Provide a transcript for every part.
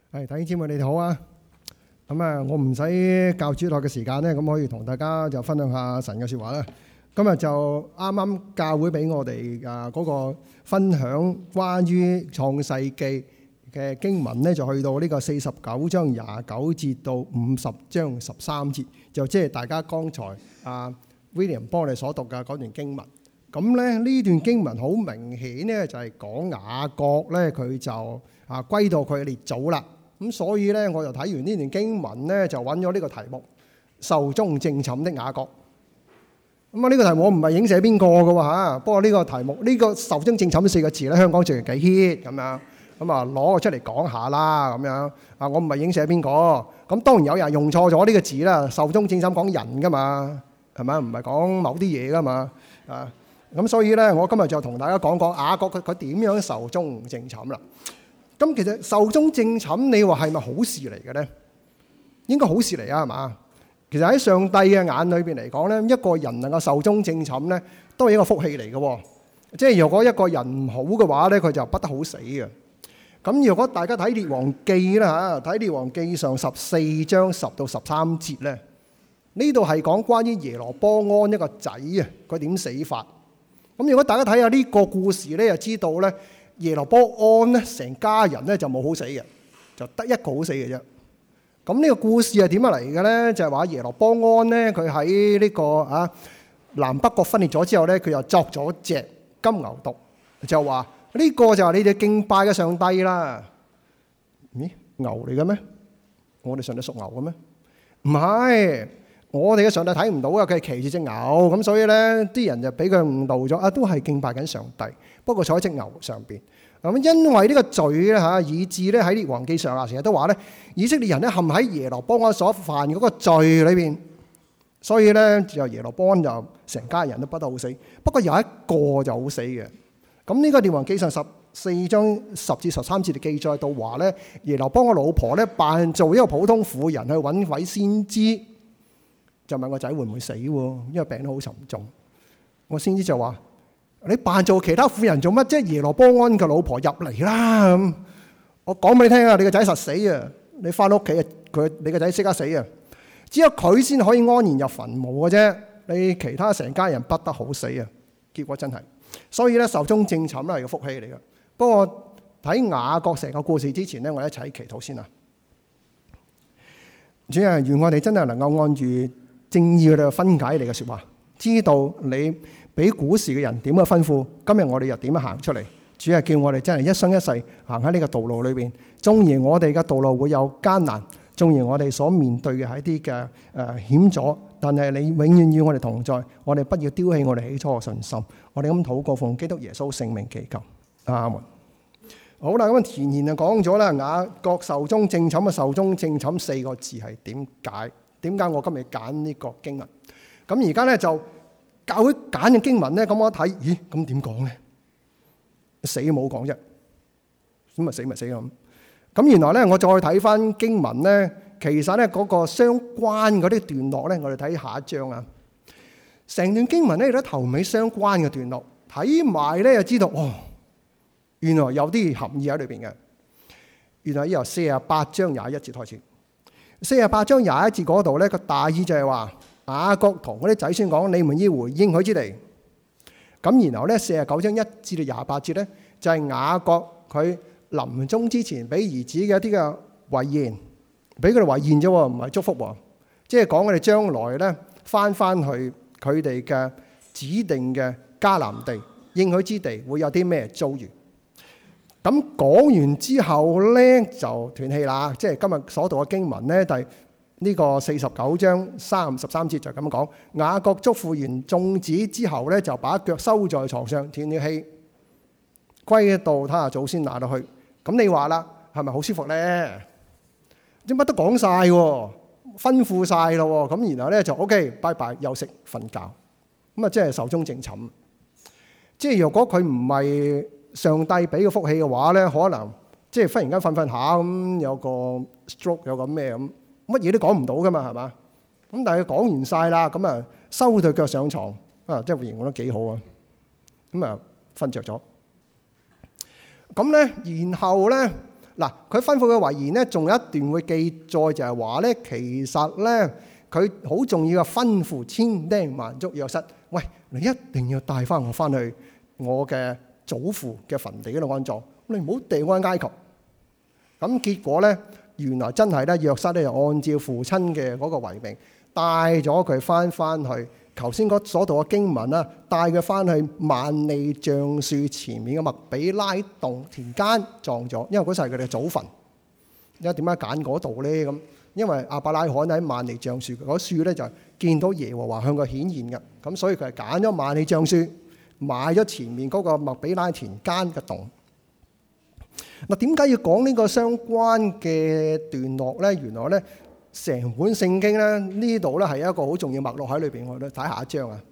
弟兄姊妹，你哋好啊！我唔使教主日學嘅時間咧，咁可以同大家就分享下神嘅説話啦。今日就啱啱教會俾我哋嗰個分享關於創世記嘅經文咧，就去到呢個49章29節到50章13節，就即係大家剛才William 幫我哋所讀嘅嗰段經文。咁咧呢段經文好明顯咧，就係講雅各咧，佢就歸到佢嘅列祖啦。咁所以咧，我就睇完呢段經文咧，就揾咗呢個題目：壽終正寢的雅各。呢個題目我唔係影射邊個嘅喎嚇，不過呢個題目呢個壽終正寢呢4個字咧，香港最近幾 hit 咁樣，攞個出嚟講下啦咁樣。我唔係影射邊個，咁當然有人用錯咗呢個字啦。壽終正寢講人噶嘛，係咪？唔係講某啲嘢噶嘛咁所以咧，我今日就同大家講講雅各佢點樣壽終正寢啦。咁其實壽終正寢，你話係咪好事嚟嘅咧？應該好事嚟啊，係嘛？其實喺上帝嘅眼裏邊嚟講咧，一個人能夠壽終正寢咧，都係一個福氣嚟嘅。即係如果一個人唔好嘅話咧，佢就不得好死嘅。咁如果大家睇列王記啦嚇，睇列王記上14章10到13節咧，呢度係講關於耶羅波安一個仔啊，佢點死法。咁如果大家睇下呢個故事咧，就知道咧。耶羅波安咧，成家人咧就冇好死嘅，就得一個好死嘅啫。咁呢個故事係點樣嚟嘅咧？就係話耶羅波安咧，佢喺呢個南北國分裂咗之後咧，佢又作咗隻金牛犢，就話呢個就係你哋敬拜嘅上帝啦。咦，牛嚟嘅咩？我哋上帝屬牛嘅咩？唔係，我哋嘅上帝睇唔到啊！佢係騎住隻牛，咁所以咧啲人就俾佢誤導咗都係敬拜緊上帝。不過坐喺隻牛上邊，咁因為呢個罪咧以致咧喺列王記上成日都話咧，以色列人咧陷喺耶羅波安所犯嗰個罪裏邊，所以咧就耶羅波安就成家人都不得好死。不過有一個就好死嘅。咁呢個列王記上14章10至13節嘅記載到話咧，耶羅波安嘅老婆咧扮做一個普通婦人去揾位先知，就問個仔會唔會死喎？因為病得好沉重。我先知就話。你扮做其他婦人做乜啫？耶羅波安嘅老婆入嚟啦！咁我講俾你聽啊，你個仔實死啊！你翻屋企啊，你個仔即刻死啊！只有佢先可以安然入墳墓嘅啫。你其他成家人不得好死啊！結果真係，所以咧壽終正寢咧係個福氣嚟嘅。不過睇雅各成個故事之前咧，我哋一齊祈禱先啊！主啊，願我哋真係能夠按住正義去分解你嘅說話，知道你俾古時嘅人點樣吩咐，今日我哋又點樣行出嚟？主係叫我哋真係一生一世行喺呢個道路裏邊。縱然我哋嘅道路會有艱難，縱然我哋所面對嘅係一啲嘅險阻，但係你永遠與我哋同在。我哋不要丟棄我哋起初嘅信心。我哋咁禱告，奉基督耶穌聖名祈求，阿門。好啦，咁前言就講咗啦，雅各壽終正寢嘅壽終正寢4個字係點解？點解我今日揀呢個經文？咁而家咧就。教會揀嘅經文咧，咁我一睇，咦，咁點講咧？死都冇講啫，咁咪死咪死咁。咁原來咧，我再睇翻經文咧，其實咧嗰個相關嗰啲段落咧，我哋睇下一章啊。成段經文咧，有啲頭尾相關嘅段落，睇埋咧就知道，哦，原來有啲含義喺裏邊嘅。原來由48章21節開始，48章21節嗰度咧個大意就係話。雅各同嗰啲仔孫講：你們要回應許之地。咁然後咧49章1至到28節咧，就係雅各佢臨終之前俾兒子嘅一啲嘅遺言，俾佢哋遺言啫，唔係祝福喎。即係講佢哋將來咧翻去佢哋嘅指定嘅迦南地應許之地會有啲咩遭遇。咁講完之後咧就斷氣啦。即係今日所讀嘅經文咧，呢個49章13節就咁講，雅各囑咐完眾子之後咧，就把腳收在床上，斷了氣，歸到他祖先那裏去。咁你話啦，係咪好舒服咧？啲乜都講晒，吩咐晒咯。咁然後咧就 OK， 拜拜，休息瞓覺。咁啊，即係壽終正寢。即係如果佢唔係上帝俾個福氣嘅話咧，可能即係忽然間瞓下咁，有個 stroke， 有個咩咁。乜嘢都講唔到噶嘛，係嘛？咁但係佢講完晒啦，咁啊收對腳上床啊，即係形容得幾好啊！咁啊瞓着咗。咁咧，然後咧嗱，佢吩咐嘅遺言咧，仲有一段會記載，就係話咧，其實咧佢好重要嘅吩咐千叮萬囑約瑟，喂，你一定要帶翻我翻去我嘅祖父嘅墳地嗰度安葬，你唔好掉我喺埃及。咁結果咧，原來真係咧，約瑟咧就按照父親嘅嗰個遺命，帶咗佢翻去頭先所讀嘅經文啦，帶佢翻去萬利橡樹前面嘅麥比拉洞田間葬咗，因為嗰時係佢哋嘅祖墳。因為點解揀嗰度咧？咁因為亞伯拉罕喺萬利橡樹嗰樹咧就見到耶和華向佢顯現嘅，咁所以佢係揀咗萬利橡樹，買咗前面嗰個麥比拉田間嘅洞。嗱，點解要講呢個相關嘅段落咧？原來咧，成本聖經咧呢度咧係一個好重要脈絡喺裏邊。我哋睇下一章啊。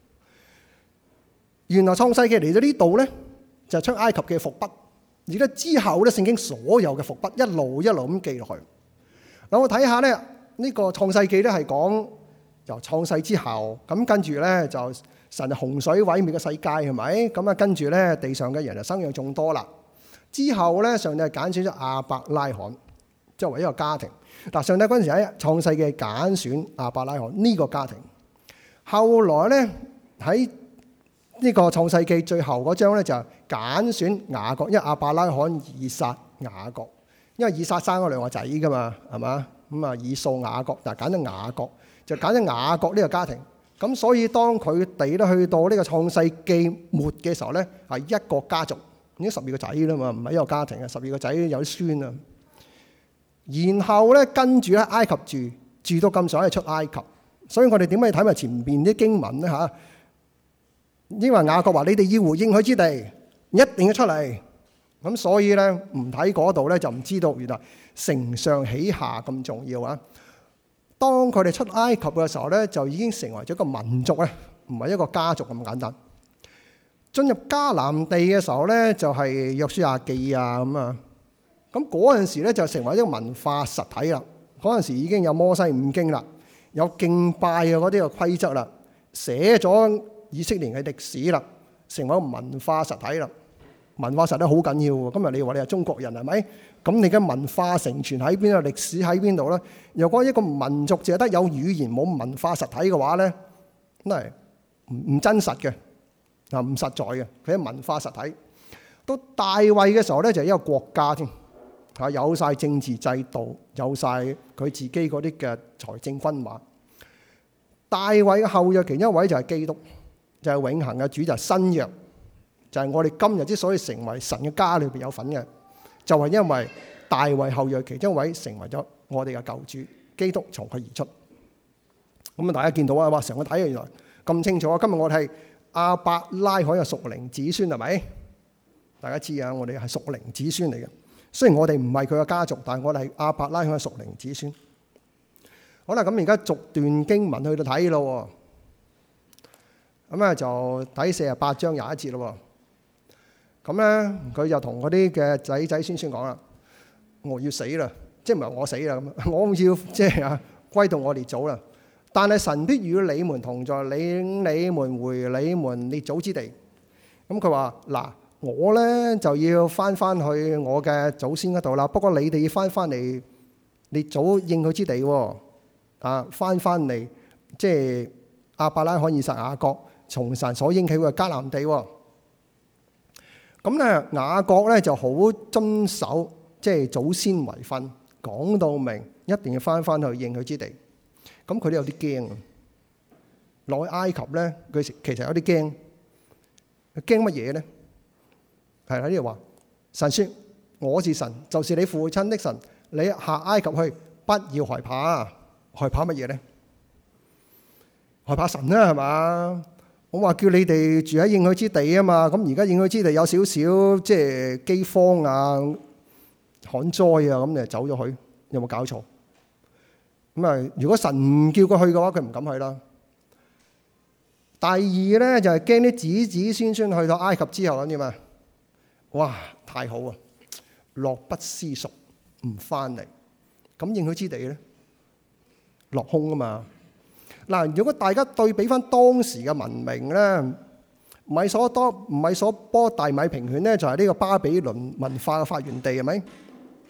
原來創世記嚟到呢度咧，就係出埃及嘅伏筆。而咧之後咧，聖經所有嘅伏筆一路咁記落去。嗱，我睇下咧，呢個創世記咧係講由創世之後，咁跟住咧就神洪水毀滅嘅世界係咪？咁啊跟住咧地上嘅人就生養眾多啦。之後咧，上帝揀選咗亞伯拉罕作為一個家庭。嗱，上帝嗰陣時喺創世記揀選亞伯拉罕呢個家庭。後來咧喺呢個創世記最後嗰章咧就揀選雅各，因為亞伯拉罕以撒雅各，因為以撒生咗兩個仔噶嘛，係嘛？咁啊以掃雅各，但係揀咗雅各，就揀咗雅各呢個家庭。咁所以當佢哋咧去到呢個創世記末嘅時候咧，係一個家族。已經12個仔啦嘛，唔係一個家庭啊，12個仔有啲孫啊。然後咧跟住咧埃及住到咁上下出埃及，所以我哋點解要睇埋前邊啲經文咧嚇？因為雅各話：你哋要回應許之地，一定要出嚟。咁所以咧唔睇嗰度咧就唔知道原來承上啟下咁重要啊！當佢哋出埃及嘅時候咧，就已經成為咗一個民族咧，唔係一個家族咁簡單。進入迦南地嘅時候咧，就係約書亞記啊咁啊。咁嗰陣時咧就成為一個文化實體啦。嗰陣時已經有摩西五經啦，有敬拜嘅嗰啲嘅規則啦，寫咗以色列嘅歷史啦，成為一個文化實體啦。文化實體好緊要喎。今日你話你係中國人係咪？咁你嘅文化承傳喺邊度？歷史喺邊度咧？如果一個民族淨係得有語言冇文化實體嘅話咧，真係唔真實嘅。唔實在嘅，佢係文化實體。到大衛嘅時候咧，就係一個國家添，嚇有晒政治制度，有晒佢自己嗰啲嘅財政軍馬。大衛嘅後裔其中一位就係基督，就係永恆嘅主，就係新約，就係我哋今日之所以成為神嘅家裏邊有份嘅，就係因為大衛後裔其中一位成為咗我哋嘅救主，基督從佢而出。咁啊，大家見到啊，哇！成個睇原來咁清楚啊！今日我哋係亞伯拉罕嘅屬靈子孫係咪？大家知啊，我哋係屬靈子孫嚟嘅。雖然我哋唔係佢嘅家族，但係我哋係亞伯拉罕嘅屬靈子孫。好啦，咁而家逐段經文去到睇咯。咁啊，就睇48章21節咯。咁咧，佢就同嗰啲嘅仔仔孫孫講啦：我要死啦，即係唔係我死啦咁，我要即係啊歸到我列祖啦。但係神必與你們同在，領你們回你們列祖之地。咁佢話：嗱，我咧就要翻去我嘅祖先嗰度啦。不過你哋要翻嚟列祖應許之地喎。啊，翻嚟即係亞伯拉罕、以撒、雅各從神所應許嘅迦南地喎。咁咧雅各咧就好遵守即係祖先遺訓，講到明一定要翻去應許之地。咁佢都有啲驚啊！落去埃及咧，佢其實有啲驚。驚乜嘢咧？係啦，呢度話神說：我是神，就是你父親的神。你下埃及去，不要害怕。害怕乜嘢咧？害怕神啦，係嘛？我話叫你哋住喺應許之地啊嘛。咁而家應許之地有少少即係饑荒啊、旱災啊，咁你就走咗去，有冇搞錯？咁啊！如果神唔叫佢去嘅話，佢唔敢去啦。第二咧就係驚啲子子孫孫去到埃及之後咁點啊？哇！太好啊！樂不思蜀，唔翻嚟。咁應許之地咧，落空啊嘛。嗱，如果大家對比翻當時嘅文明咧，米索波大米平原咧就係呢個巴比倫文化嘅發源地係咪？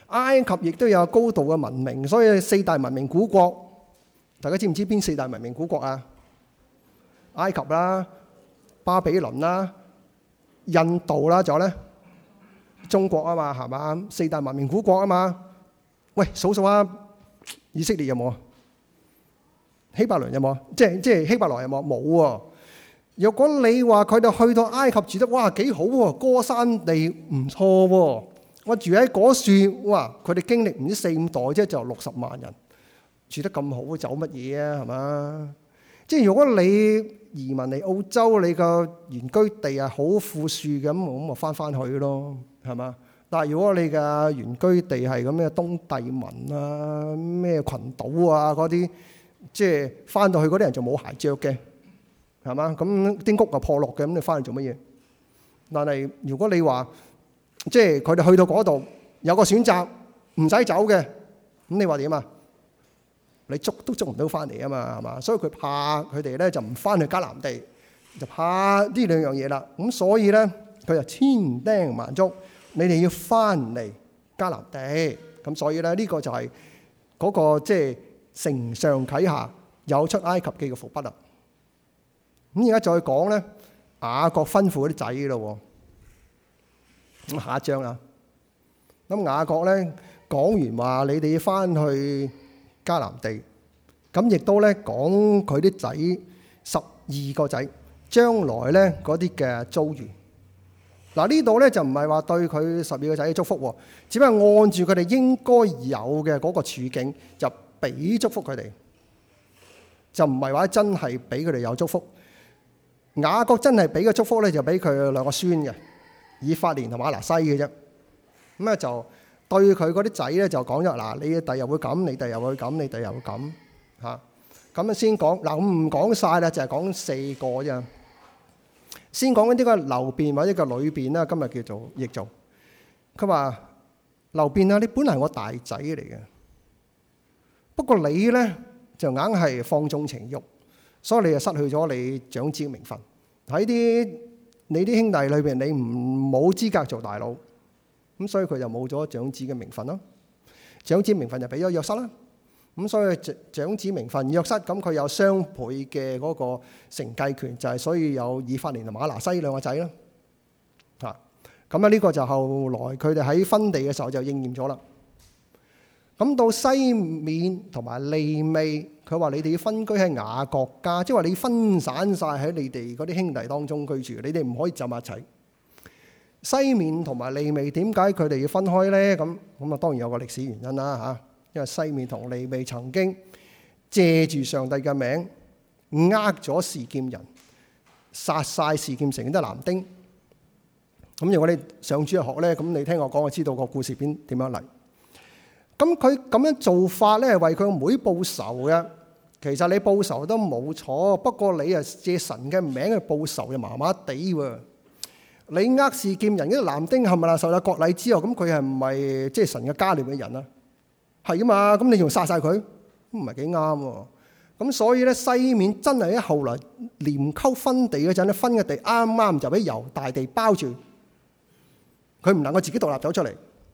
埃及亦都有高度嘅文明，所以四大文明古國，大家知唔知邊四大文明古國啊？埃及啦、巴比倫啦、印度啦，仲有咧中國啊嘛，係嘛？四大文明古國啊嘛。喂，數數啊，以色列有冇啊？希伯倫有冇啊？即係希伯來有冇？冇喎。如果你話佢哋去到埃及住得哇幾好喎，歌珊地唔錯喎，我住喺嗰處，哇！佢哋經歷唔知4-5代啫，就60萬人住得咁好，走乜嘢啊？係嘛？即係如果你移民嚟澳洲，你個原居地係好富庶嘅，咁咪翻去咯，係嘛？但係如果你嘅原居地係咁嘅東帝汶啊、咩群島啊嗰啲，即係翻到去嗰啲人就冇鞋着嘅，係嘛？咁啲屋又破落嘅，咁你翻去做乜嘢？但係如果你話即係佢哋去到嗰度有個選擇，唔使走嘅，咁你話點啊？你捉都捉唔到翻嚟啊嘛，係嘛？所以佢怕佢哋咧就唔翻去迦南地，就怕呢兩樣嘢啦。咁所以咧佢就千叮萬囑，你哋要翻嚟迦南地。咁所以咧呢個就係嗰個即係承上啟下有出埃及記嘅伏筆啦。咁而家再講咧雅各吩咐嗰啲仔咯。咁下一章啦。咁雅各咧講完話，你哋要翻去迦南地，咁亦都咧講佢啲仔12個仔將來咧嗰啲嘅遭遇。嗱呢度咧就唔係話對佢12個仔嘅祝福，只不過按住佢哋應該有嘅嗰個處境就俾祝福佢哋，就唔係話真係俾佢哋有祝福。雅各真係俾嘅祝福咧就俾佢兩個孫嘅，以法蓮同馬拿西嘅啫。咁咧就對佢嗰啲仔咧就講咗嗱，你第日會咁，你第日會咁，你第日會咁嚇。咁樣先講嗱，我唔講晒啦，就係講4個啫。先講緊呢個流便或者個女便啦，今日叫做譯做。佢話流便啊，你本嚟係我大仔嚟嘅，不過你咧就硬係放縱情慾，所以你就失去咗你長子嘅名分。喺你啲兄弟裏邊，你唔冇資格做大佬，咁所以佢就冇咗長子嘅名分咯。長子名分就俾咗約瑟啦。咁所以長子名分約瑟，咁佢有雙倍嘅嗰個承繼權，就係所以有以法蓮同馬拿西兩個仔啦。咁啊呢個就後來佢哋喺分地嘅時候就應驗咗啦。咁到西面同埋利未，佢話你哋要分居喺雅各家，即係話你分散晒喺你哋嗰啲兄弟當中居住，你哋唔可以浸埋一齊。西面同埋利未點解佢哋要分開咧？咁啊當然有個歷史原因啦嚇。因為西面同利未曾經借住上帝嘅名呃咗示劍人，殺晒示劍城啲男丁。咁如果你上主日學咧，咁你聽我講，我知道個故事點樣嚟。咁佢咁樣做法咧，係為佢個妹報仇嘅。其實你報仇都冇錯，不過你啊借神嘅名去報仇就麻麻地喎。你呃示劍人啲男丁係咪啦？受咗割禮之後，咁佢係唔係即係神嘅家裏嘅人啊？係啊嘛，咁你仲殺晒佢，唔係幾啱喎。咁所以咧，西面真係喺後來連溝分地嗰陣咧，分嘅地啱啱就俾猶大地包住，佢唔能夠自己獨立走出嚟。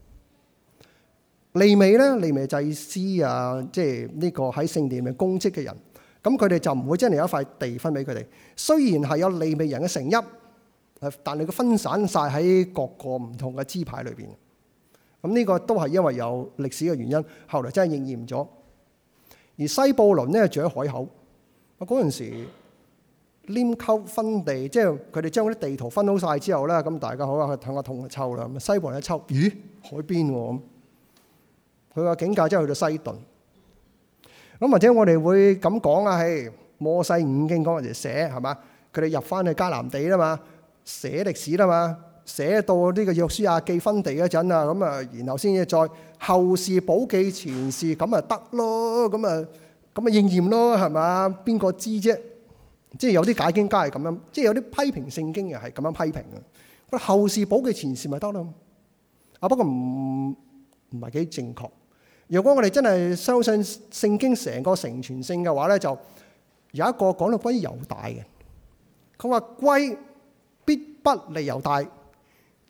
利未咧，利未祭司啊，即係呢個喺聖殿裏面公職嘅人，咁佢哋就唔會真係有一塊地分俾佢哋。雖然係有利未人嘅城邑，但係佢分散晒喺各個唔同嘅支派裏邊。咁呢個都係因為有歷史嘅原因，後來真係應驗咗。而西布倫咧住喺海口，嗰陣時黏溝分地，即係佢哋將嗰啲地圖分好晒之後咧，咁大家好啊，睇個痛抽啦。咁西布倫一抽，咦，海邊喎咁。佢個境界真係去到西頓。咁或者我哋會咁講啊，係摩西五經嗰陣時寫係嘛？佢哋入翻去迦南地啦嘛，寫歷史啦嘛。寫到呢個約書亞記分地嗰陣啊，咁啊，然後先至再後事補記前事，咁啊得咯，咁啊應驗咯，係嘛？邊個知啫？即係有啲解經家係咁樣，即係有啲批評聖經嘅係咁樣批評嘅。後事補記前事咪得咯？啊，不過唔係幾正確。如果我哋真係相信聖經成個成全性嘅話咧，就有一個講到關於猶大嘅，佢話歸必不離猶大。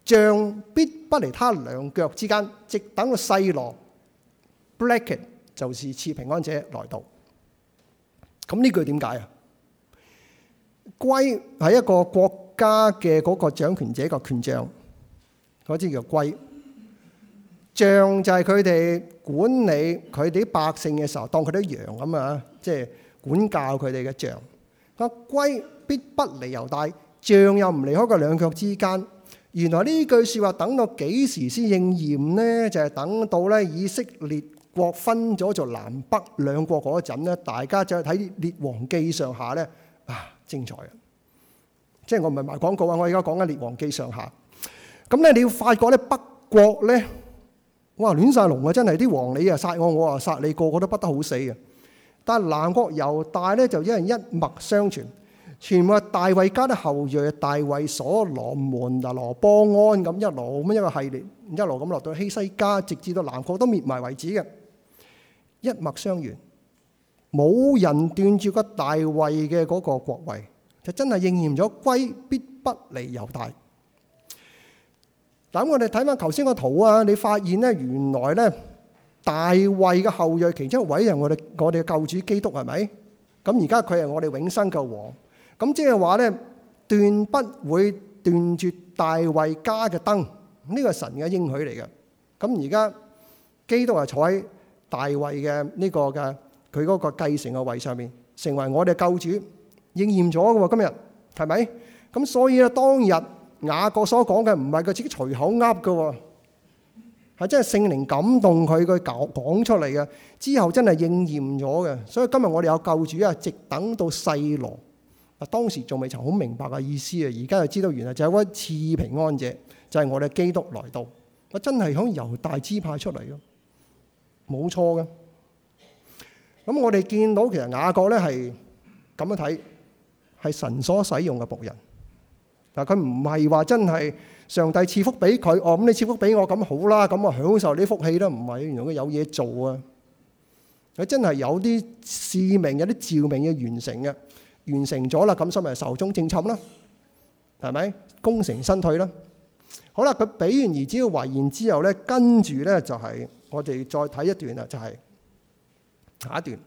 杖必不離他兩腳之間，直等到細羅 bracket 就是賜平安者來到。咁呢句點解啊？圭係一個國家嘅嗰個掌權者個權杖，嗰啲叫圭。杖就係佢哋管理佢哋啲百姓嘅時候，當佢啲羊咁啊，即係管教佢哋嘅杖。個圭必不離猶大，杖又唔離開佢兩腳之間。原來呢句説話等到幾時先應驗呢？就係等到咧以色列國分咗做南北兩國嗰陣咧，大家就睇列王記上下咧啊，精彩啊！即係我唔係賣廣告啊，我而家講緊列王記上下。咁咧你要發覺咧北國咧，哇亂晒龍啊！真係啲王你啊殺我，我啊殺你，個個都不得好死啊！但係南國猶大咧就一人一脈相傳，全部係大衛家的後裔，大衛所羅門嗱羅波安咁一路咁一個系列，一路咁落到希西家，直至到南國都滅埋為止嘅，一脈相傳，冇人斷絕個大衛嘅嗰個國位，就真係應驗咗圭必不離猶大。咁我哋睇翻頭先個圖啊，你發現咧原來咧大衛嘅後裔其中一位係我哋嘅救主基督係咪？咁而家佢係我哋永生嘅王，咁即係話咧斷不會斷絕大衛家嘅燈，呢個係神嘅應許嚟嘅。咁而家基督係坐喺大衛嘅呢個嘅佢嗰個繼承嘅位上面，成為我哋救主，應驗咗嘅喎。今日係咪？咁所以咧當日雅各所講嘅唔係佢自己隨口噏嘅，係真係聖靈感動佢講出嚟嘅，之後真係應驗咗嘅。所以今日我哋有救主啊，直等到細羅。嗱，當時仲未曾好明白嘅意思啊，而家就知道原來就係位賜平安者，就係我哋基督來到。我真係響猶大支派出嚟嘅，冇錯嘅。咁我哋見到其實雅各咧係咁樣睇，係神所使用嘅僕人。嗱，佢唔係話真係上帝賜福俾佢，哦咁你賜福俾我咁好啦，咁我享受啲福氣啦，唔係，原來佢有嘢做啊！佢真係有啲使命、有啲召命要完成嘅，完成咗啦，咁所以咪壽終正寢啦，係咪？功成身退啦。好啦，佢俾完兒子嘅遺言之後咧，跟住咧就係我哋再睇一段啦，就係下一段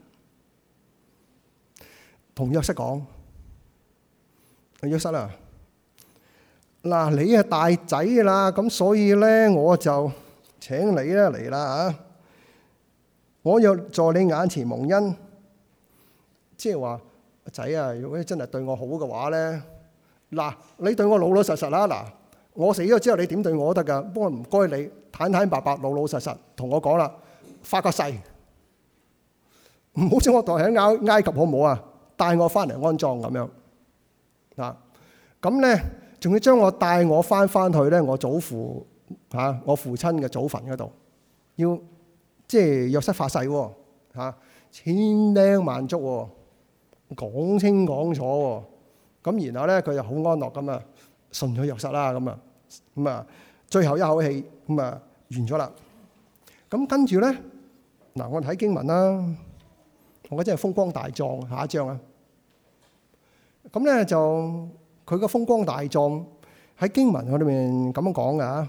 同約瑟講，約瑟啊！嗱，你係大仔啦，咁所以咧我就請你咧嚟啦嚇。我若在你眼前蒙恩，即係話仔啊，如果你真係對我好嘅話咧，嗱，你對我老老實實啦。嗱，我死咗之後你點對我都得㗎，不過唔該你坦坦白白、老老實實同我講啦，發個誓，唔好將我帶喺埃及好唔好啊？帶我翻嚟安葬咁樣嗱，咁咧。仲要將我帶我翻去咧，我祖父我父親嘅祖墳嗰度，要即係約瑟發誓喎千叮萬囑喎，講清講楚喎。咁然後咧佢就好安樂咁啊，信咗約瑟啦咁啊，最後一口氣咁啊完咗啦。咁跟住咧嗱，我睇經文啦，我覺得真係風光大壯。下一章啊，咁咧就。佢個風光大壯喺經文裏面咁樣講嘅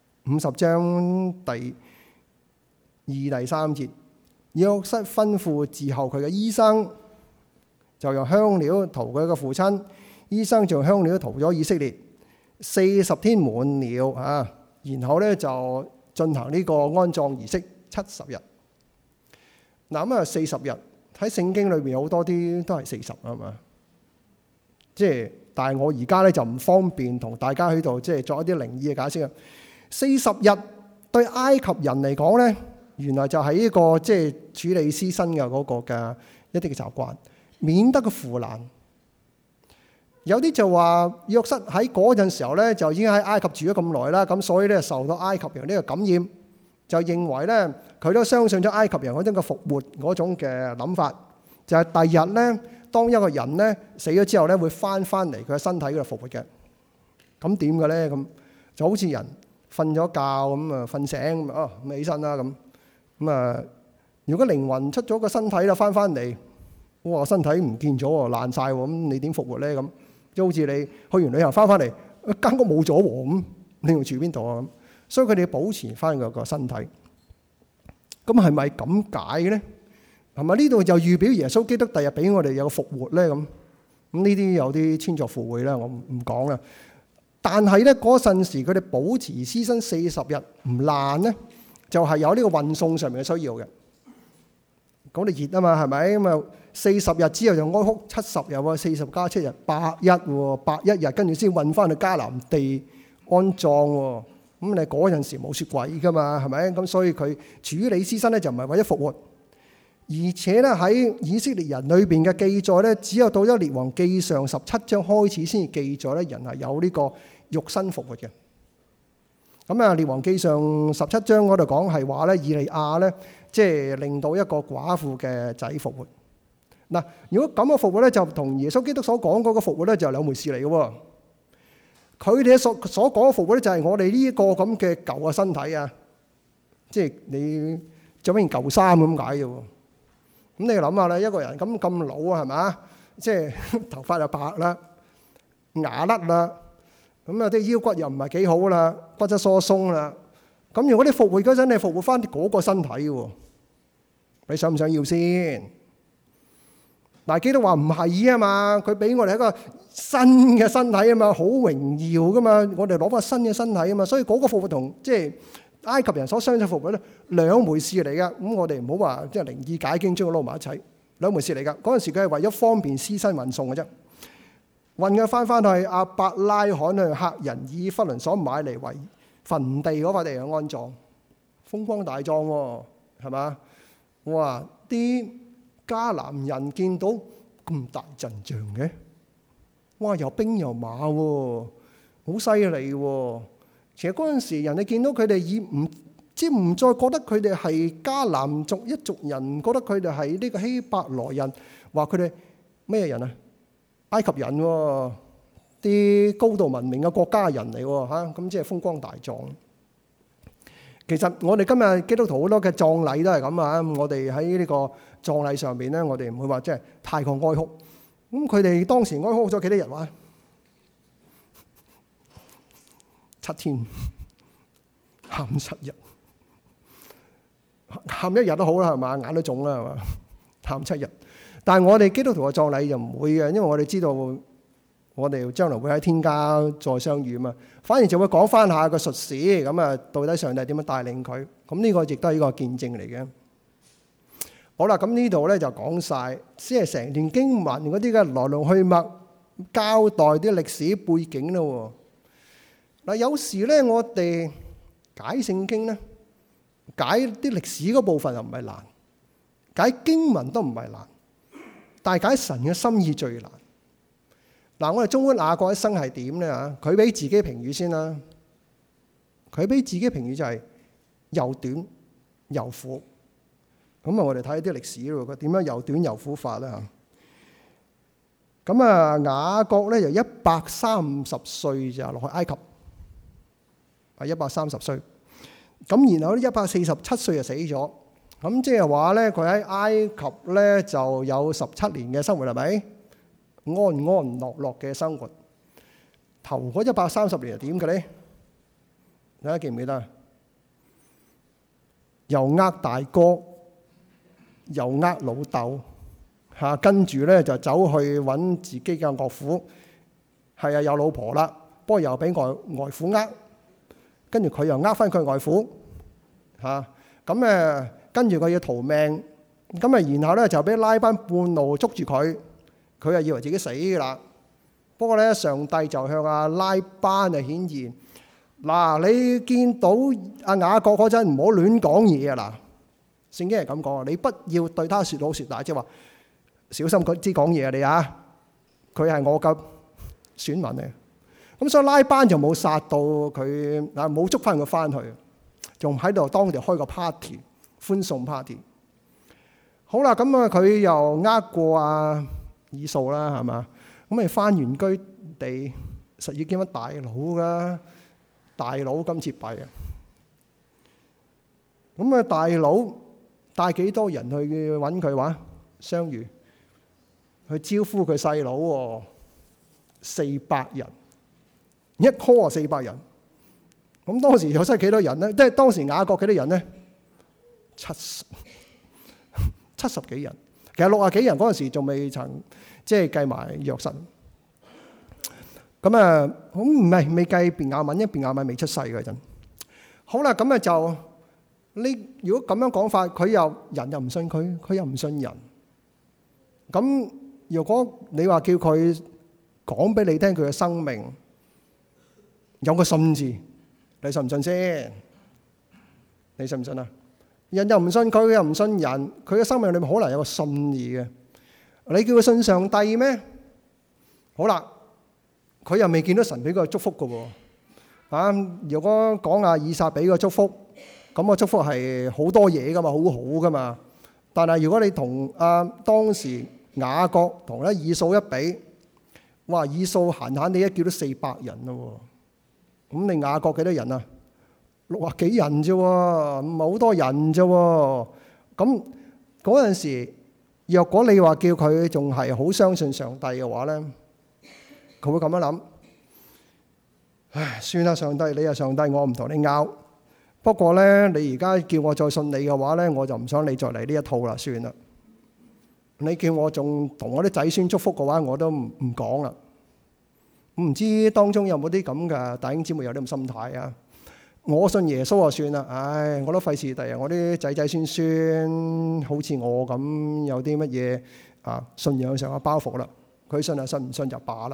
50章第2、第3節，約瑟吩咐伺候佢嘅醫生，就用香料塗佢嘅父親。醫生就用香料塗咗以色列40天滿了然後咧就進行呢個安葬儀式70日。嗱咁啊40日喺聖經裏邊好多啲都係40係嘛，即係。但係我而家咧就唔方便同大家喺度即係作一啲靈異嘅解釋啊。40日對埃及人嚟講咧，原來就係呢個即係處理屍身嘅嗰個嘅一啲嘅習慣，免得佢腐爛。有啲就話約瑟喺嗰陣時候咧就已經喺埃及住咗咁耐啦，咁所以咧受到埃及人呢個感染，就認為咧佢都相信咗埃及人嗰種嘅復活嗰種嘅諗法，就係第日咧。當一個人咧死咗之後咧，會翻嚟佢嘅身體嗰度復活嘅。咁點嘅咧？咁就好似人瞓咗覺咁啊，瞓醒咁起身啦咁啊。如果靈魂出咗個身體啦，翻嚟，哇，身體唔見咗喎，爛晒喎，咁你點復活咧？咁就好似你去完旅行翻嚟，間屋冇咗喎，咁你仲住邊度啊？所以佢哋保持翻個身體。咁係咪咁解咧？係咪呢度就預表耶穌基督第日俾我哋有個復活咧？咁呢啲有啲穿鑿附會啦，我唔講啦。但係咧嗰陣時佢哋保持屍身40日唔爛咧，就係有呢個運送上面嘅需要嘅。講你熱啊嘛，係咪咁啊？40日之後就哀哭70日喎，40加7日81喎，81日跟住先運翻去迦南地安葬喎。咁你嗰陣時冇雪櫃噶嘛，係咪？咁所以佢處理屍身咧就唔係為咗復活，而且咧喺以色列人裏邊嘅記載咧，只有到咗列王記上17章開始先至記載咧人係有呢個肉身復活嘅。咁啊，列王記上17章嗰度講係話咧，以利亞咧即係令到一個寡婦嘅仔復活。嗱，如果咁嘅復活咧，就同耶穌基督所講嗰個復活咧就係兩回事嚟嘅喎。佢哋所講嘅復活咧，就係我哋呢一個咁嘅舊嘅身體啊，即係你著翻件舊衫咁解嘅喎。咁你諗下啦，一個人咁老啊，係嘛？即係頭髮又白啦，牙甩啦，咁啊啲腰骨又唔係幾好啦，骨質疏鬆啦。咁如果你復活嗰陣，你復活翻嗰個身體喎，你想唔想要先？但係基督話唔係啊嘛，佢俾我哋一個新嘅身體啊嘛，好榮耀噶嘛，我哋攞翻新嘅身體啊嘛，所以嗰個復活同即係埃及人所相信復活咧兩回事嚟噶。咁我哋唔好話即係靈意解經將佢撈埋一齊，兩回事嚟噶。嗰陣時佢係為咗方便屍身運送嘅啫，運佢翻去亞伯拉罕去赫人以弗倫所買嚟為墳地嗰塊地去安葬，風光大葬喎，係嘛？哇！啲迦南人見到咁大陣仗嘅，哇！又兵又馬喎，好犀利喎！其實嗰陣時人哋見到佢哋唔再覺得佢哋係迦南族一族人，覺得佢哋係呢個希伯來人，話佢哋咩人啊？埃及人喎，啲高度文明嘅國家人嚟喎嚇，咁即係風光大葬。其實我哋今日基督徒好多嘅葬禮都係咁啊！我哋喺呢個葬禮上邊咧，我哋唔會話即係太過哀哭。咁佢哋當時哀哭咗幾多日話？7天，喊7日，喊1日都好啦，係嘛？眼都腫啦，係嘛？喊7日。但係我哋基督徒嘅葬禮就唔會嘅，因為我哋知道我哋將來會喺天家再相遇啊嘛。反而就會講翻下個術士，咁啊到底上帝點樣帶領佢？咁呢個亦都係一個見證嚟嘅。好啦，咁呢度咧就講晒，即係成段經文嗰啲嘅來龍去脈，交代啲歷史背景咯。嗱，有時咧我哋解聖經咧，解啲歷史嗰部分又唔係難，解經文都唔係難，但係解神嘅心意最難。嗱，我哋中觀雅各一生係點咧嚇？佢俾自己評語先啦。佢俾自己評語就係又短又苦。咁啊，我哋睇啲歷史咯，佢點樣又短又苦法咧嚇？咁啊，雅各咧就130歲就落去埃及，係130歲。咁然後咧147歲就死咗。咁即係話咧，佢喺埃及咧就有17年嘅生活，係咪？安安樂樂嘅生活，頭嗰130年係點嘅咧？大家記唔記得？又呃大哥，又呃老豆，嚇，跟住咧就走去揾自己嘅岳父，係啊有老婆啦，不過又俾外父呃，跟住佢又呃翻佢外父，嚇，咁誒跟住佢要逃命，咁啊然後咧就俾拉班半路捉住佢。佢係以為自己死㗎啦，不過咧上帝就向阿拉班啊顯現，嗱，你見到阿雅各嗰陣唔好亂講嘢啊！嗱，聖經係咁講啊，你不要對他説好説壞，即係話小心佢知講嘢啊！你啊，佢係我嘅選民嚟，咁所以拉班就冇殺到佢啊，冇捉翻佢翻去，仲喺度當地開個 party 歡送 party。好啦，咁啊佢又呃過啊以掃啦，係嘛？咁你翻原居地，實要見乜大佬噶？大佬今次弊啊！咁啊，大佬帶幾多人去揾佢話相遇，去招呼佢細佬喎，400人，一 call 400人， 咁當時約瑟幾多人咧？即係當時雅各幾多人咧？70幾人。其實60幾人嗰陣時仲未曾即係計埋約瑟。咁啊，咁唔係未計便雅憫，因為便雅憫未出世嗰陣。好啦，咁啊就你如果咁樣講法，佢又人又唔信佢，佢又唔信人。咁如果你話叫佢講俾你聽佢嘅生命有個信字，你信唔信先？你信唔信啊？人又唔信佢，佢又唔信人，佢嘅生命裏面可能有個信字嘅。你叫佢信上帝咩？好啦，佢又未見到神俾佢祝福嘅喎。啊，如果講下以撒俾個祝福，咁個祝福係好多嘢噶嘛，好好噶嘛。但係如果你同當時雅各同咧以掃一比，哇！以掃閒閒地一叫都400人咯。咁你雅各幾多人啊？60幾人啫，唔係好多人啫。咁嗰陣時，若果你話叫佢仲係好相信上帝嘅話咧，佢會咁樣諗：唉，算啦，上帝，你係上帝，我唔同你拗。不過咧，你而家叫我再信你嘅話咧，我就唔想你再嚟呢一套啦，算啦。你叫我仲同我啲仔孫祝福嘅話，我都唔講啦。唔知當中有冇啲咁嘅弟兄姊妹有啲咁心態啊？我信耶穌就算啦，唉，我都費事第日我啲仔仔孫孫好似我咁有啲乜嘢信仰上嘅包袱啦。佢信就信，唔信就罷啦。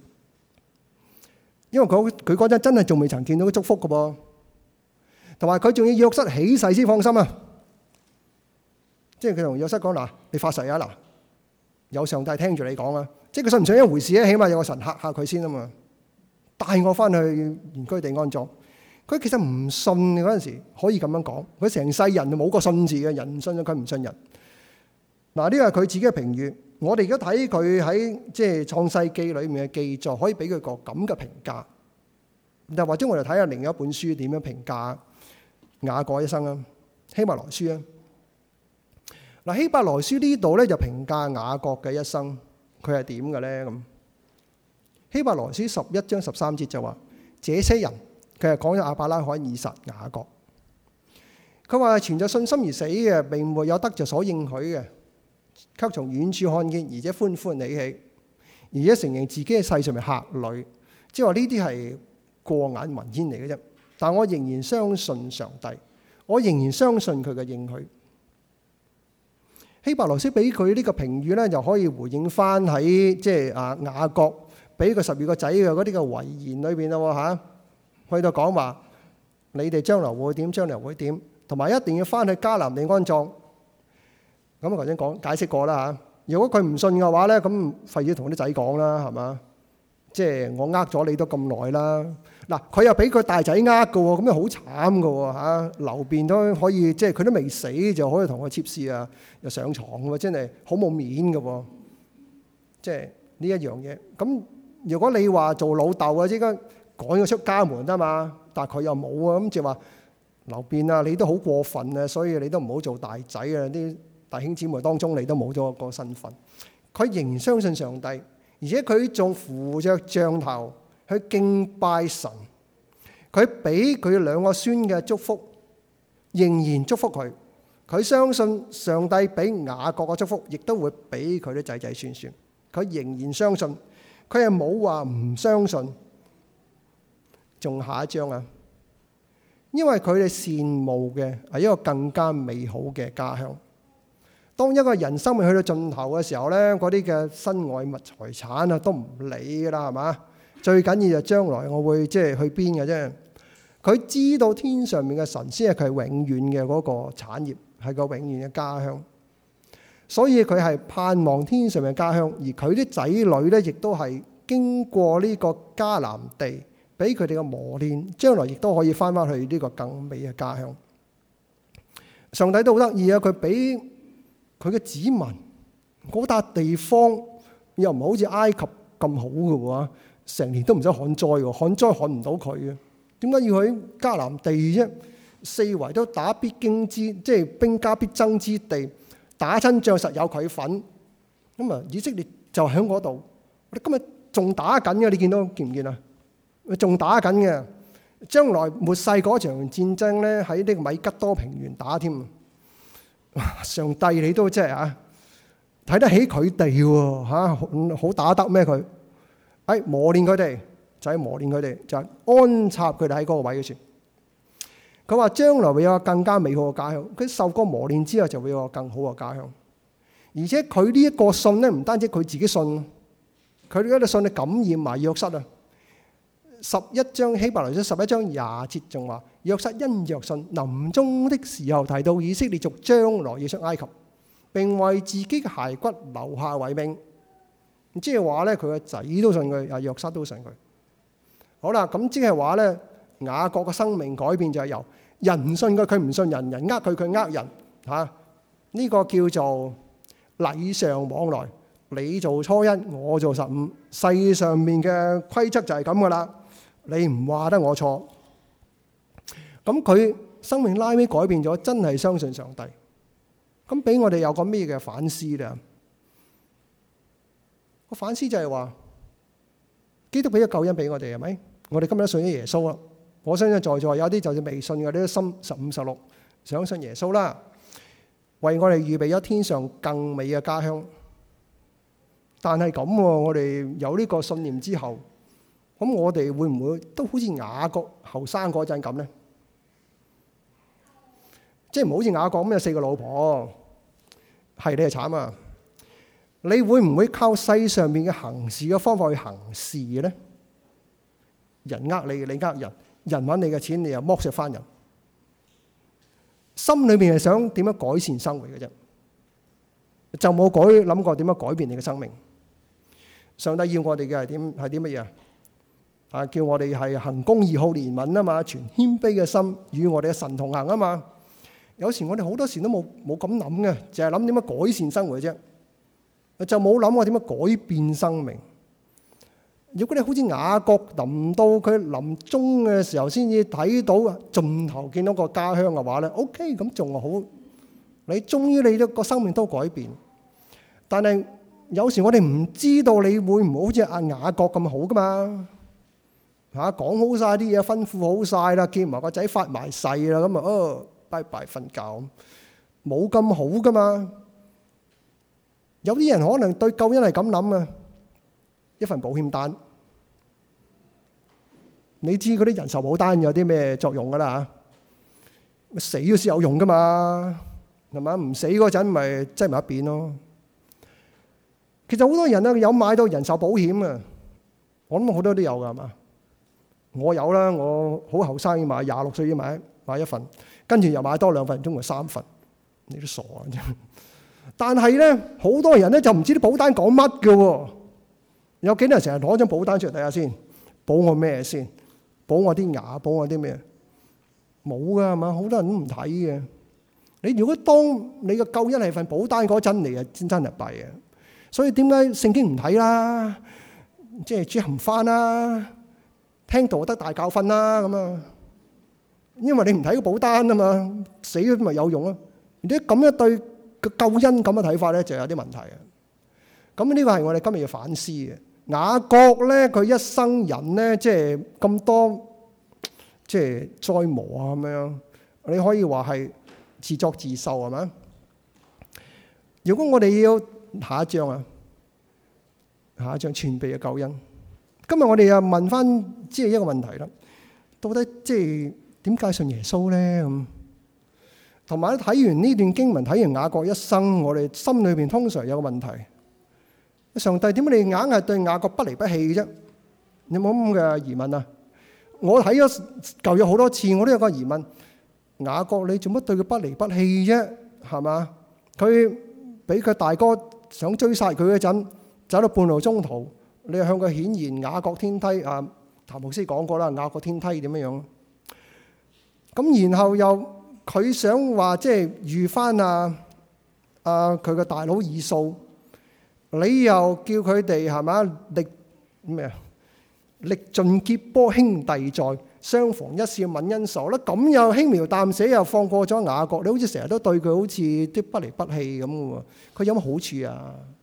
因為佢嗰陣真係仲未曾見到祝福嘅噃，同埋佢仲要約瑟起誓先放心啊！即係佢同約瑟講嗱，你發誓啊嗱，有上帝聽住你講啊！即係佢信唔信一回事咧，起碼有個神嚇下佢先啊嘛，帶我翻去原居地安葬。佢其實唔信嗰陣時可以咁樣講，佢成世人就冇個信字嘅，人唔信佢唔信人。嗱，呢個係佢自己嘅評語。我哋而家睇佢喺即係創世記裏面嘅記載，可以俾佢個咁嘅評價。但或者我哋睇下另一本書點樣評價雅各一生啊？希伯來書啊，嗱，希伯來書呢度咧就評價雅各嘅一生，佢係點嘅咧咁？希伯來書11章13節就話：這些人。佢係講咗亞伯拉罕、以撒、雅各。佢話存着信心而死嘅，並沒有得着所應許嘅，卻從遠處看見，而且歡歡喜喜，而且承認自己喺世上面客旅。即係話呢啲係過眼雲煙嚟嘅啫。但我仍然相信上帝，我仍然相信佢嘅應許。希伯來書俾佢呢個評語咧，就可以回應翻喺即係雅各俾佢12個仔嘅嗰啲嘅遺言裏邊啦嚇。去到講話，你哋將來會點？將來會點？同埋一定要翻去迦南地安葬。咁我頭先解釋過啦嚇。如果佢唔信嘅話咧，咁費事同啲仔講啦，係嘛？即係我呃咗你都咁耐啦。嗱，佢又俾佢大仔呃嘅喎，咁樣好慘嘅喎嚇。流便都可以，即係佢都未死就可以同佢妾侍啊，又上床嘅喎，真係好冇面嘅喎。即係呢一樣嘢。咁如果你話做老豆啊，即刻趕佢出家門得嘛，但係佢又冇啊，咁就話流便啊，你都好過分啊，所以你都唔好做大仔啊！啲弟兄姊妹當中，你都冇咗個身份。佢仍然相信上帝，而且佢仲扶着杖頭去敬拜神。佢俾佢2個孫嘅祝福，仍然祝福佢。佢相信上帝俾雅各嘅祝福，亦都會俾佢啲仔仔孫孫。佢仍然相信，佢係冇話唔相信。仲下一章啊！因為佢哋羨慕嘅係一個更加美好嘅家鄉。當一個人生命去到盡頭嘅時候咧，嗰啲嘅身外物財產啊都唔理噶啦，係嘛？最緊要就將來我會即係去邊嘅啫。佢知道天上面嘅神先係佢永遠嘅嗰個產業，係個永遠嘅家鄉。所以佢係盼望天上嘅家鄉，而佢啲仔女咧亦都係經過呢個迦南地。俾佢哋嘅磨練，將來亦都可以翻返去呢個更美嘅家鄉。上帝都好得意啊！佢俾佢嘅子民嗰笪地方，又唔係好似埃及咁好嘅喎，成年都唔使旱災喎，旱災旱唔到佢嘅。點解要去迦南地啫？四圍都打必經之，即係兵家必爭之地，打親仗實有佢份。咁啊，以色列就喺嗰度。我哋今日仲打緊嘅，你見唔見啊？仲打緊嘅， 將來末世嗰場戰爭咧，喺呢個米吉多平原打添。上帝你都即係啊，睇得起佢哋喎嚇，好打得咩佢？磨練佢哋，就係磨練佢哋，就係安插佢哋喺嗰個位嘅處。佢話將來會有個更加美好嘅家鄉。佢受過磨練之後，就會有個更好嘅家鄉。而且佢呢一個信咧，唔單止佢自己信，佢呢個信咧感染埋約瑟啊。11章希伯來書11章20節仲話，約瑟因着信臨終的時候提到以色列族將來要出埃及，並為自己嘅骸骨留下遺命。即係話咧，佢個仔都信佢，約瑟都信佢。好啦，咁即係話咧，雅各嘅生命改變就係由人信佢，佢唔信人；人呃佢，佢呃人嚇。呢個叫做禮尚往來，你做初一，我做15。世上面嘅規則就係咁噶啦，你唔話得我錯。咁佢生命拉尾改變咗，真係相信上帝。咁俾我哋有個咩嘅反思咧？個反思就係話，基督俾咗救恩俾我哋係咪？我哋今日都信咗耶穌啦。我相信在座有啲就算未信嘅，你都心15、16想信耶穌啦，為我哋預備咗天上更美嘅家鄉。但係咁，我哋有呢個信念之後，咁我哋會唔會都好似雅各後生嗰陣咁咧？即係唔好似雅各咁有4個老婆，係你係慘啊！你會唔會靠世上面嘅行事嘅方法去行事嘅咧？人呃你，你呃人，人揾你嘅錢，你又剝削翻人，心裏面係想點樣改善生活嘅啫，就冇諗過點樣改變你嘅生命。上帝要我哋嘅係啲乜嘢啊？叫我哋係行公義、好憐憫啊嘛，存謙卑嘅心，與我哋嘅神同行啊嘛。有時我哋好多時都冇咁諗嘅，淨係諗點樣改善生活啫，就冇諗過點樣改變生命。如果你好似雅各臨到佢臨終嘅時候先至睇到盡頭見到個家鄉嘅話咧，OK， 咁仲好。你終於你個生命都改變，但係有時我哋唔知道你會唔會好似阿雅各咁好噶嘛？講好晒啲嘢，吩咐好晒啦，見埋個仔發埋誓啦，咁啊拜拜瞓覺，冇咁好噶嘛。有啲人可能對救恩係咁諗啊，一份保險單，你知嗰啲人壽保單有啲咩作用噶啦嚇？死咗先有用噶嘛，係嘛？唔死嗰陣咪擠埋一邊咯。其實好多人啊有買到人壽保險啊，我諗好多都有噶係嘛？我有啦，我好後生要買，26歲要買一份，跟住又買多2份，總共3份，你都傻啊！但係咧，好多人咧就唔知啲保單講乜嘅喎。有幾多人成日攞張保單出嚟睇下先？保我咩先？保我啲牙，保我啲咩？冇噶係嘛？好多人都唔睇嘅。你如果當你嘅救恩係份保單嗰陣嚟啊，真係弊啊！所以點解聖經唔睇啦？即係主行翻啦，聽道德大教訓啦咁啊！因為你唔睇個保單啊嘛，死咗咪有用啊！如果咁樣對個救恩咁嘅睇法咧，就有啲問題啊！咁呢個係我哋今日要反思嘅。雅各咧，佢一生人咧，即係咁多即係災磨啊咁樣，你可以話係自作自受係咪？如果我哋要下一章啊，下一章全備嘅救恩。今日我哋又問翻即係一個問題啦，到底即係點解信耶穌咧咁？同埋睇完呢段經文，睇完雅各一生，我哋心裏邊通常有個問題：上帝點解你硬係對雅各不離不棄啫？你有冇咁嘅疑問啊？我睇咗舊約好多次，我都有個疑問：雅各你做乜對佢不離不棄啫？係嘛？佢俾佢大哥想追殺佢嗰陣，走到半路中途，你又向佢顯現雅各天梯啊！譚牧師講過啦，雅各天梯點樣樣？咁然後又佢想話即係遇翻佢個大佬以掃，你又叫佢哋係嘛歷盡劫波兄弟在，相逢一笑泯恩仇啦。咁又輕描淡寫又放過咗雅各，你好似成日都對佢好似啲不離不棄咁嘅喎。佢有乜好處啊？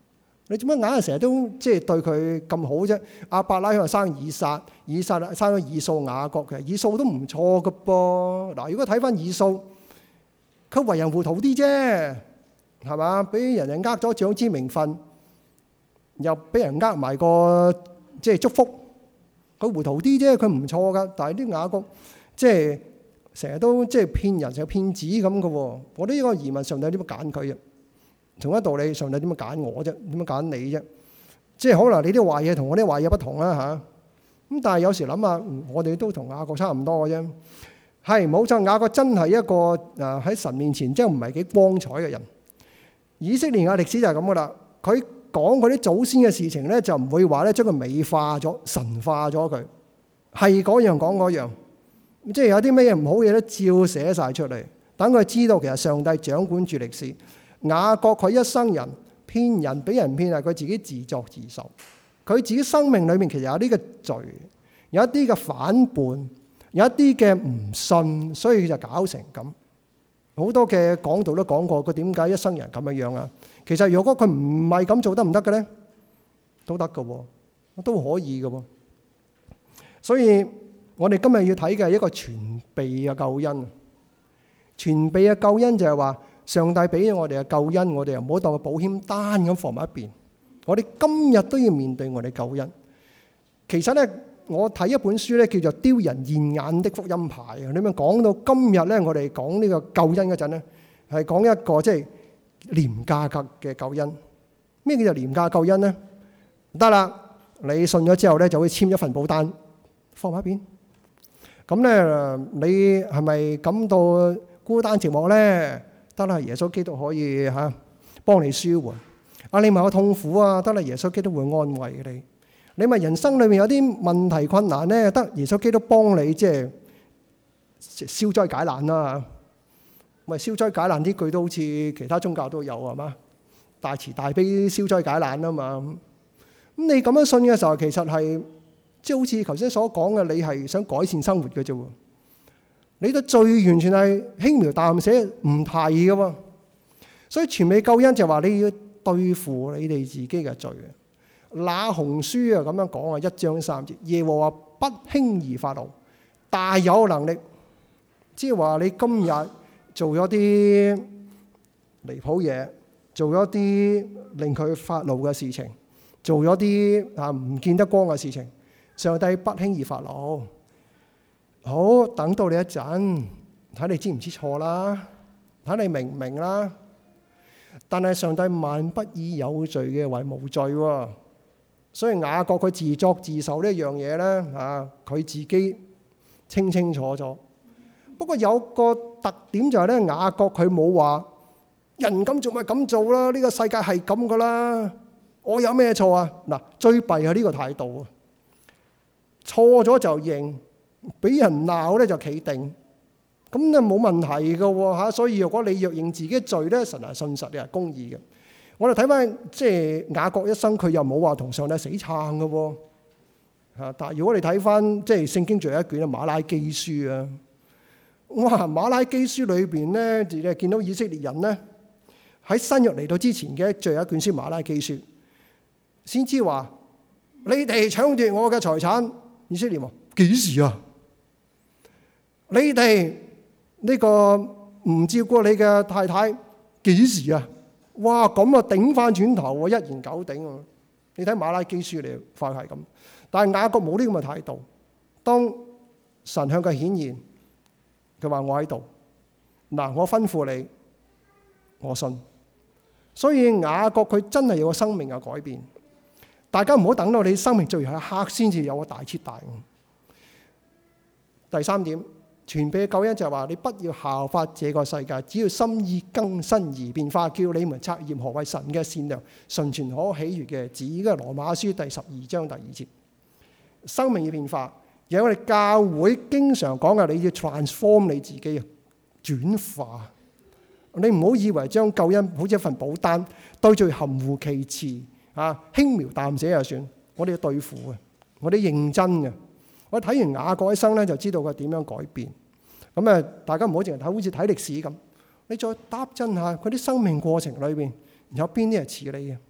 你做乜硬係成日都即係對佢咁好啫？亞伯拉罕生以撒，以撒生咗以掃雅各，其實以掃都唔錯㗎噃。嗱，如果睇翻以掃，佢為人糊塗啲啫，係嘛？俾人哋呃咗長子名分，又俾人呃埋個即係祝福，佢糊塗啲啫，佢唔錯噶。但係啲雅各即係成日都即係騙人，成個騙子咁嘅喎。我呢個疑問，上帝點樣揀佢啊？同一道理，上帝點樣揀我啫？點樣揀你啫？即係可能你啲壞嘢同我啲壞嘢不同啦嚇。咁但係有時諗下，我哋都同雅各差唔多嘅啫。係冇錯，雅各真係一個喺神面前真係唔係幾光彩嘅人。以色列嘅歷史就係咁噶啦。佢講佢啲祖先嘅事情咧，就唔會話咧將佢美化咗、神化咗佢，係嗰樣講嗰樣。即係有啲咩嘢唔好嘢咧，照寫晒出嚟，等佢知道其實上帝掌管住歷史。雅各佢一生人騙人，俾人騙係佢自己自作自受。佢自己生命裏面其實有啲嘅罪，有一啲嘅反叛，有一啲嘅唔信，所以佢就搞成咁。好多嘅講道都講過佢點解一生人咁樣樣啊。其實如果佢唔係咁做得唔得嘅咧？都得嘅，都可以嘅。所以我哋今日要睇嘅係一個全備嘅救恩。全備嘅救恩就係話，上帝俾咗我哋嘅救恩，我哋又唔好當個保險單咁放埋一邊。我哋今日都要面對我哋救恩。其實咧，我睇一本書咧，叫做《丟人現眼的福音牌》啊。你咪講到今日咧，我哋講呢個救恩嗰陣咧，係講一個即係廉價嘅救恩。咩叫做廉價救恩咧？得啦，你信咗之後咧，就會簽一份保單，放埋一邊。咁咧，你係咪感到孤單寂寞咧？得啦，耶穌基督可以幫你舒緩。你咪有痛苦啊？得啦，耶穌基督會安慰你。你咪人生裏面有啲問題困難咧？得耶穌基督幫你即係消災解難啦。咪消災解難呢句都好似其他宗教都有係嘛？大慈大悲消災解難啊嘛。咁你咁樣信嘅時候，其實係即係好似頭先所講嘅，你係想改善生活嘅啫。你對罪完全係輕描淡寫唔提嘅喎。所以全備救恩就話你要對付你哋自己嘅罪。那鴻書啊咁樣講啊，1章3節，耶和華不輕易發怒，大有能力。即係話你今日做咗啲離譜嘢，做咗啲令佢發怒嘅事情，做咗啲唔見得光嘅事情，上帝不輕易發怒。好，等到你一陣，睇你知唔知錯啦，睇你明唔明啦。但係上帝萬不以有罪嘅為無罪喎。所以雅各佢自作自受呢一樣嘢咧，佢自己清清楚楚。不過有個特點就係咧，雅各佢冇話人咁做咪咁做啦，呢個世界係咁噶啦，我有咩錯啊？嗱，最弊係呢個態度啊，錯咗就認，俾人鬧咧就企定，咁咧冇問題噶喎。所以如果你若認自己罪咧，神係信實，你係公義嘅。我哋睇翻即係雅各一生，佢又冇話同上帝死撐嘅喎。但係如果你睇翻即係聖經最後一卷啊，馬拉基書啊，哇，馬拉基書裏邊咧，你見到以色列人咧喺新約嚟到之前嘅最後一卷書馬拉基書，先知話你哋搶奪我嘅財產，以色列話幾時啊？你哋呢個唔照顧你嘅太太，幾時啊？哇！咁啊，頂翻轉頭喎，一言九鼎喎。你睇馬拉基書，你發覺係咁。但係雅各冇呢咁嘅態度。當神向佢顯現，佢話我喺度，嗱，我吩咐你，我信。所以雅各佢真係有個生命嘅改變。大家唔好等到你生命最後一刻先至有個大徹大悟。第三點。全備嘅救恩就係話你不要效法這個世界，只要心意更新而變化，叫你們察驗何為神嘅善良、純全可喜悅嘅旨意。羅馬書第12章第2節，生命要變化。而我哋教會經常講嘅，你要 transform 你自己啊，轉化。你唔好以為將救恩好似一份保單，對罪含糊其辭輕描淡寫就算。我哋要對付嘅，我哋認真嘅。我睇完雅各一生咧，就知道佢點樣改變。咁啊，大家唔好淨係睇，好似睇歷史咁。你再搭真下佢啲生命過程裏邊，有邊啲係似你嘅，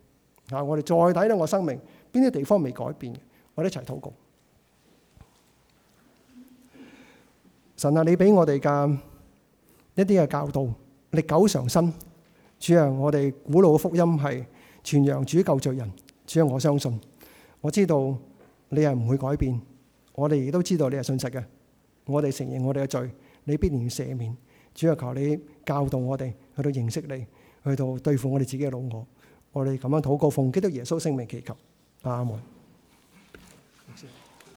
我哋再睇睇我生命邊啲地方未改變嘅，我哋一齊禱告。神啊，你俾我哋嘅一啲嘅教導歷久常新。主啊，我哋古老嘅福音係傳揚主救罪人。主啊，我相信，我知道你係唔會改變，我哋亦都知道你係信實嘅。我哋承認我哋嘅罪，你必然要赦免。主啊，求你教導我哋去到認識你，去到對付我哋自己嘅老我。我哋咁樣禱告，奉基督耶穌聖名祈求，阿門。